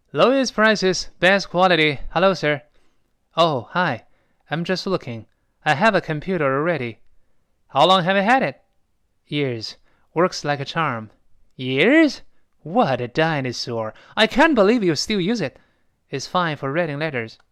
Lowest prices, best quality. Hello, sir. Oh, hi. I'm just looking. I have a computer already. How long have you had it? Years. Works like a charm. Years? What a dinosaur. I can't believe you still use it. It's fine for reading letters.